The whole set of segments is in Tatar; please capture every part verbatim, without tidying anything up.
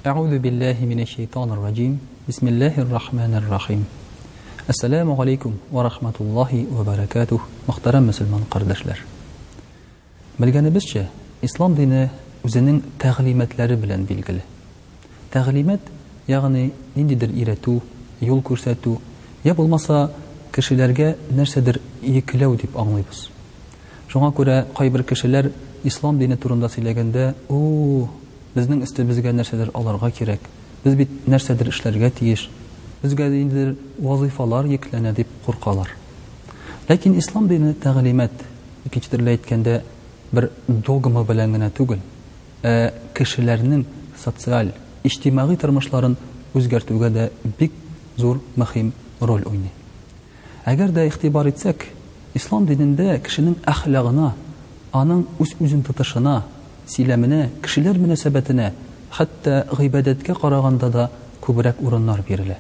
أعوذ بالله من الشيطان الرجيم بسم الله الرحمن الرحيم Assalamu alaikum wa rahmatullahi wa barakatuh. Muhtaram musulmon qardoshlar. Bilganimizcha, islom dini o'zining ta'limatlari bilan belgili. Ta'limat, ya'ni nindidir iratu, yo'l ko'rsatuv, ya bo'lmasa kishilarga narsadir yeklov deb anglaymiz. Shunga ko'ra, qay bir kishilar islom dini turida so'ylaganda, "O, bizning ustimizga narsadir olarga kerak. Biz bit narsadir ishlarga tegish. Bizga endi vazifalar yuklana deb qo'rqalar." Lekin islom dini ta'limat ikkinchi tilda aytganda bir dogma bilangina tugul, e, kishilarning sotsial, ijtimoiy turmushlarini o'zgartirishga da bek zo'r muhim rol o'ynaydi. Agarda ixtibor etsak, islom dinida kishining axloqini, aning o'z-o'zini tutishini, silamini, kishilar munosabatini, hatto g'ibodatga qaraganda da ko'proq o'rinlar beriladi.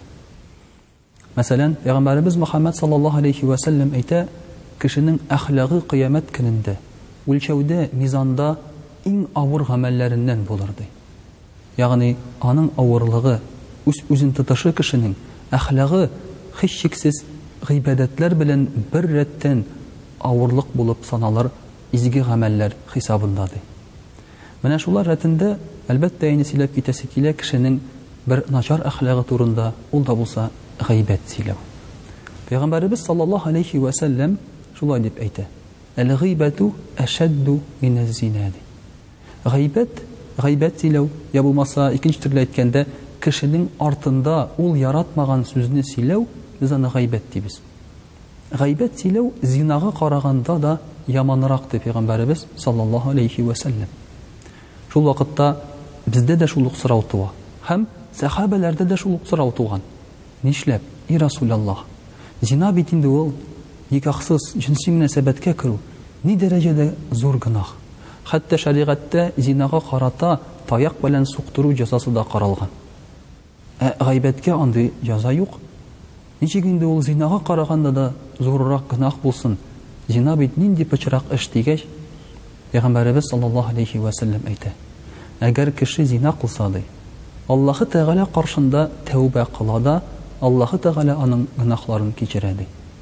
Masalan, Payg'ambarimiz Muhammad sallallohu alayhi va sallam ayta, kishining axloqi qiyomat kunida o'lchovda, mizonda eng og'ir amallaridan bo'lardi. Ya'ni aning og'irligi, o'z-o'zini tutishi kishining axloqi hech cheksiz g'ibodatlar bilan bir ratdan og'irlik bo'lib sanalar izgi amallar hisobindadir. Mana shular ratında albatta yana silab ketasi kela kishining bir nachar axloqi turunda ul da bo'lsa g'iybat silav. Payg'ambarimiz sallallohu alayhi va sallam shulay deb aytdi: "Al-g'ibatu ashaddu min az-zina." G'iybat, g'iybat silav ya bo'lmasa ikkinchi tilda aytganda kishining ortida ul yaratmagan so'zni silav biz uni g'iybat deymiz. G'iybat silav zinaga qaraganda da yomonroq deb Payg'ambarimiz sallallohu alayhi va sallam. Шул вакытта бездә дә шул ук сорау туа. Һәм сахабаларда да шул ук сорау туган. Нишләп, и Расулаллаһ, зина бит инде ул никахсыз җинси мөнәсәбәткә керү ни дәрәҗәдә зур гынах. Хәтта шариғатта зинага карата таяк белән суктыру җәзасы да каралган. Ә гыйбәткә андый җәза юк. Ничек инде ул зинага караганда да зуррак гынах булсын? Зина бит нинди пычрак эш дигәч, Payg'ambarimiz sallallohu alayhi va sallam aytdi: "Agar kishi zina qilsa, Alloh Taala qarshында tavba qiladi, Alloh Taala uning gunohlarini kechiradi.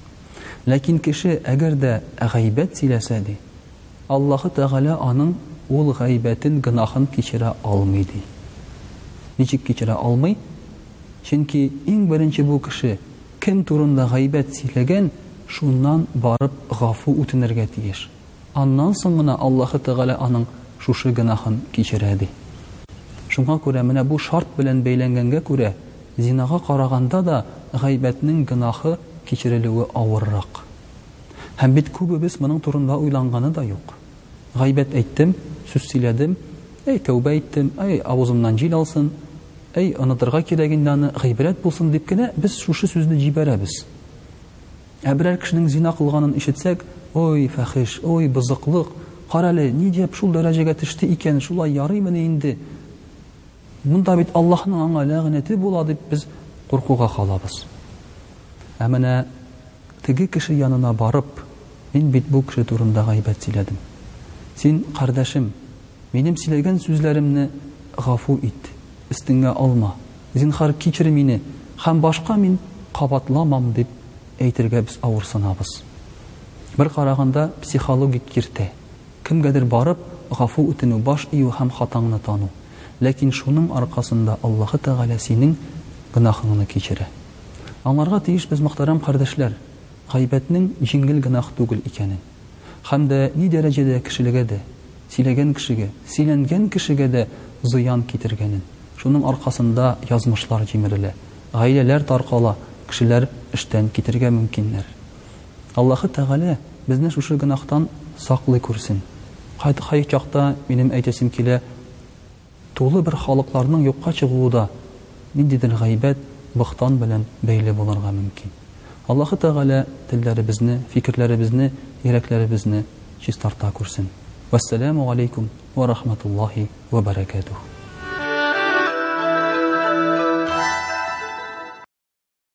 Lekin kishi agarda g'iybat silasa, Alloh Taala uning ul g'iybatin gunohini kechira olmaydi." Nechik kechira olmay? Chunki eng birinchi bu kishi kim turunda g'iybat silagan, shundan borib g'afu o'tinirga tegish. Аннан соң гына Аллаһ Тәгалә аның шушы гынаһын кичерәди. Шуңа күрә менә бу шарт белән бәйләнгәнгә күрә зинага караганда да гыйбатның гынаһы кичерелүе авыррак. Һәм бит күбебез моның турында уйланганы да юк. Гыйбат әйттем, сүз сөйләдем, әй тәүбә әйттем, әй авызымнан җил алсын, әй онытырга кирәгендәне гыйбрат булсын дип кенә без шушы сүзне җибәрәбез. Ә берәр кешенең зина кылганын ишетсәк, ой фахиш, ой бызыклык, карале, ни дип шул дәрәҗәгә төште икән, шулай ярыймыни инде. Монда бит Аллаһның аңа ләгънәте була дип без куркуга калабыз. Ә менә теге кеше янына барып, мин бит бу кеше турында гыйбат сөйләдем. Син, кардәшем, минем сөйләгән сүзләремне гафу ит, өстеңә алма. Зинһар кичер мине, һәм башка мин кабатламам дип әйтергә без авырсынабыз. Bir qaraganda psixologik kirte. Kimgadir barib гафу үтенү, баш ию һәм хатаңны тану. Ләкин шуның аркасында Аллаһ Тәгалә синең гынаһыңны кичерә. Аңларга тиеш без мөхтәрәм кардәшләр, гыйбатның җиңел гынаһ түгел икәнен. Һәм дә ни дәрәҗәдә кешелегә дә, сөйләгән кешегә, сөйләнгән кешегә дә зыян китергәнен. Шуның аркасында язмышлар җимерелә, гаиләләр таркала, кешеләр эштән китергә мөмкиннәр. Аллаһ Тәгалә безне шушы гынаһтан саклый күрсен. Кай чакта минем әйтәсем килә, тулы бер халыкларның юкка чыгуы ниндидер гыйбат, бохтан белән бәйле булырга мөмкин. Аллаһ Тәгалә телләребезне, фикерләребезне, йөрәкләребезне чистарта күрсен. Вассаламу алейкум ва рахматуллаһи ва баракатуһ.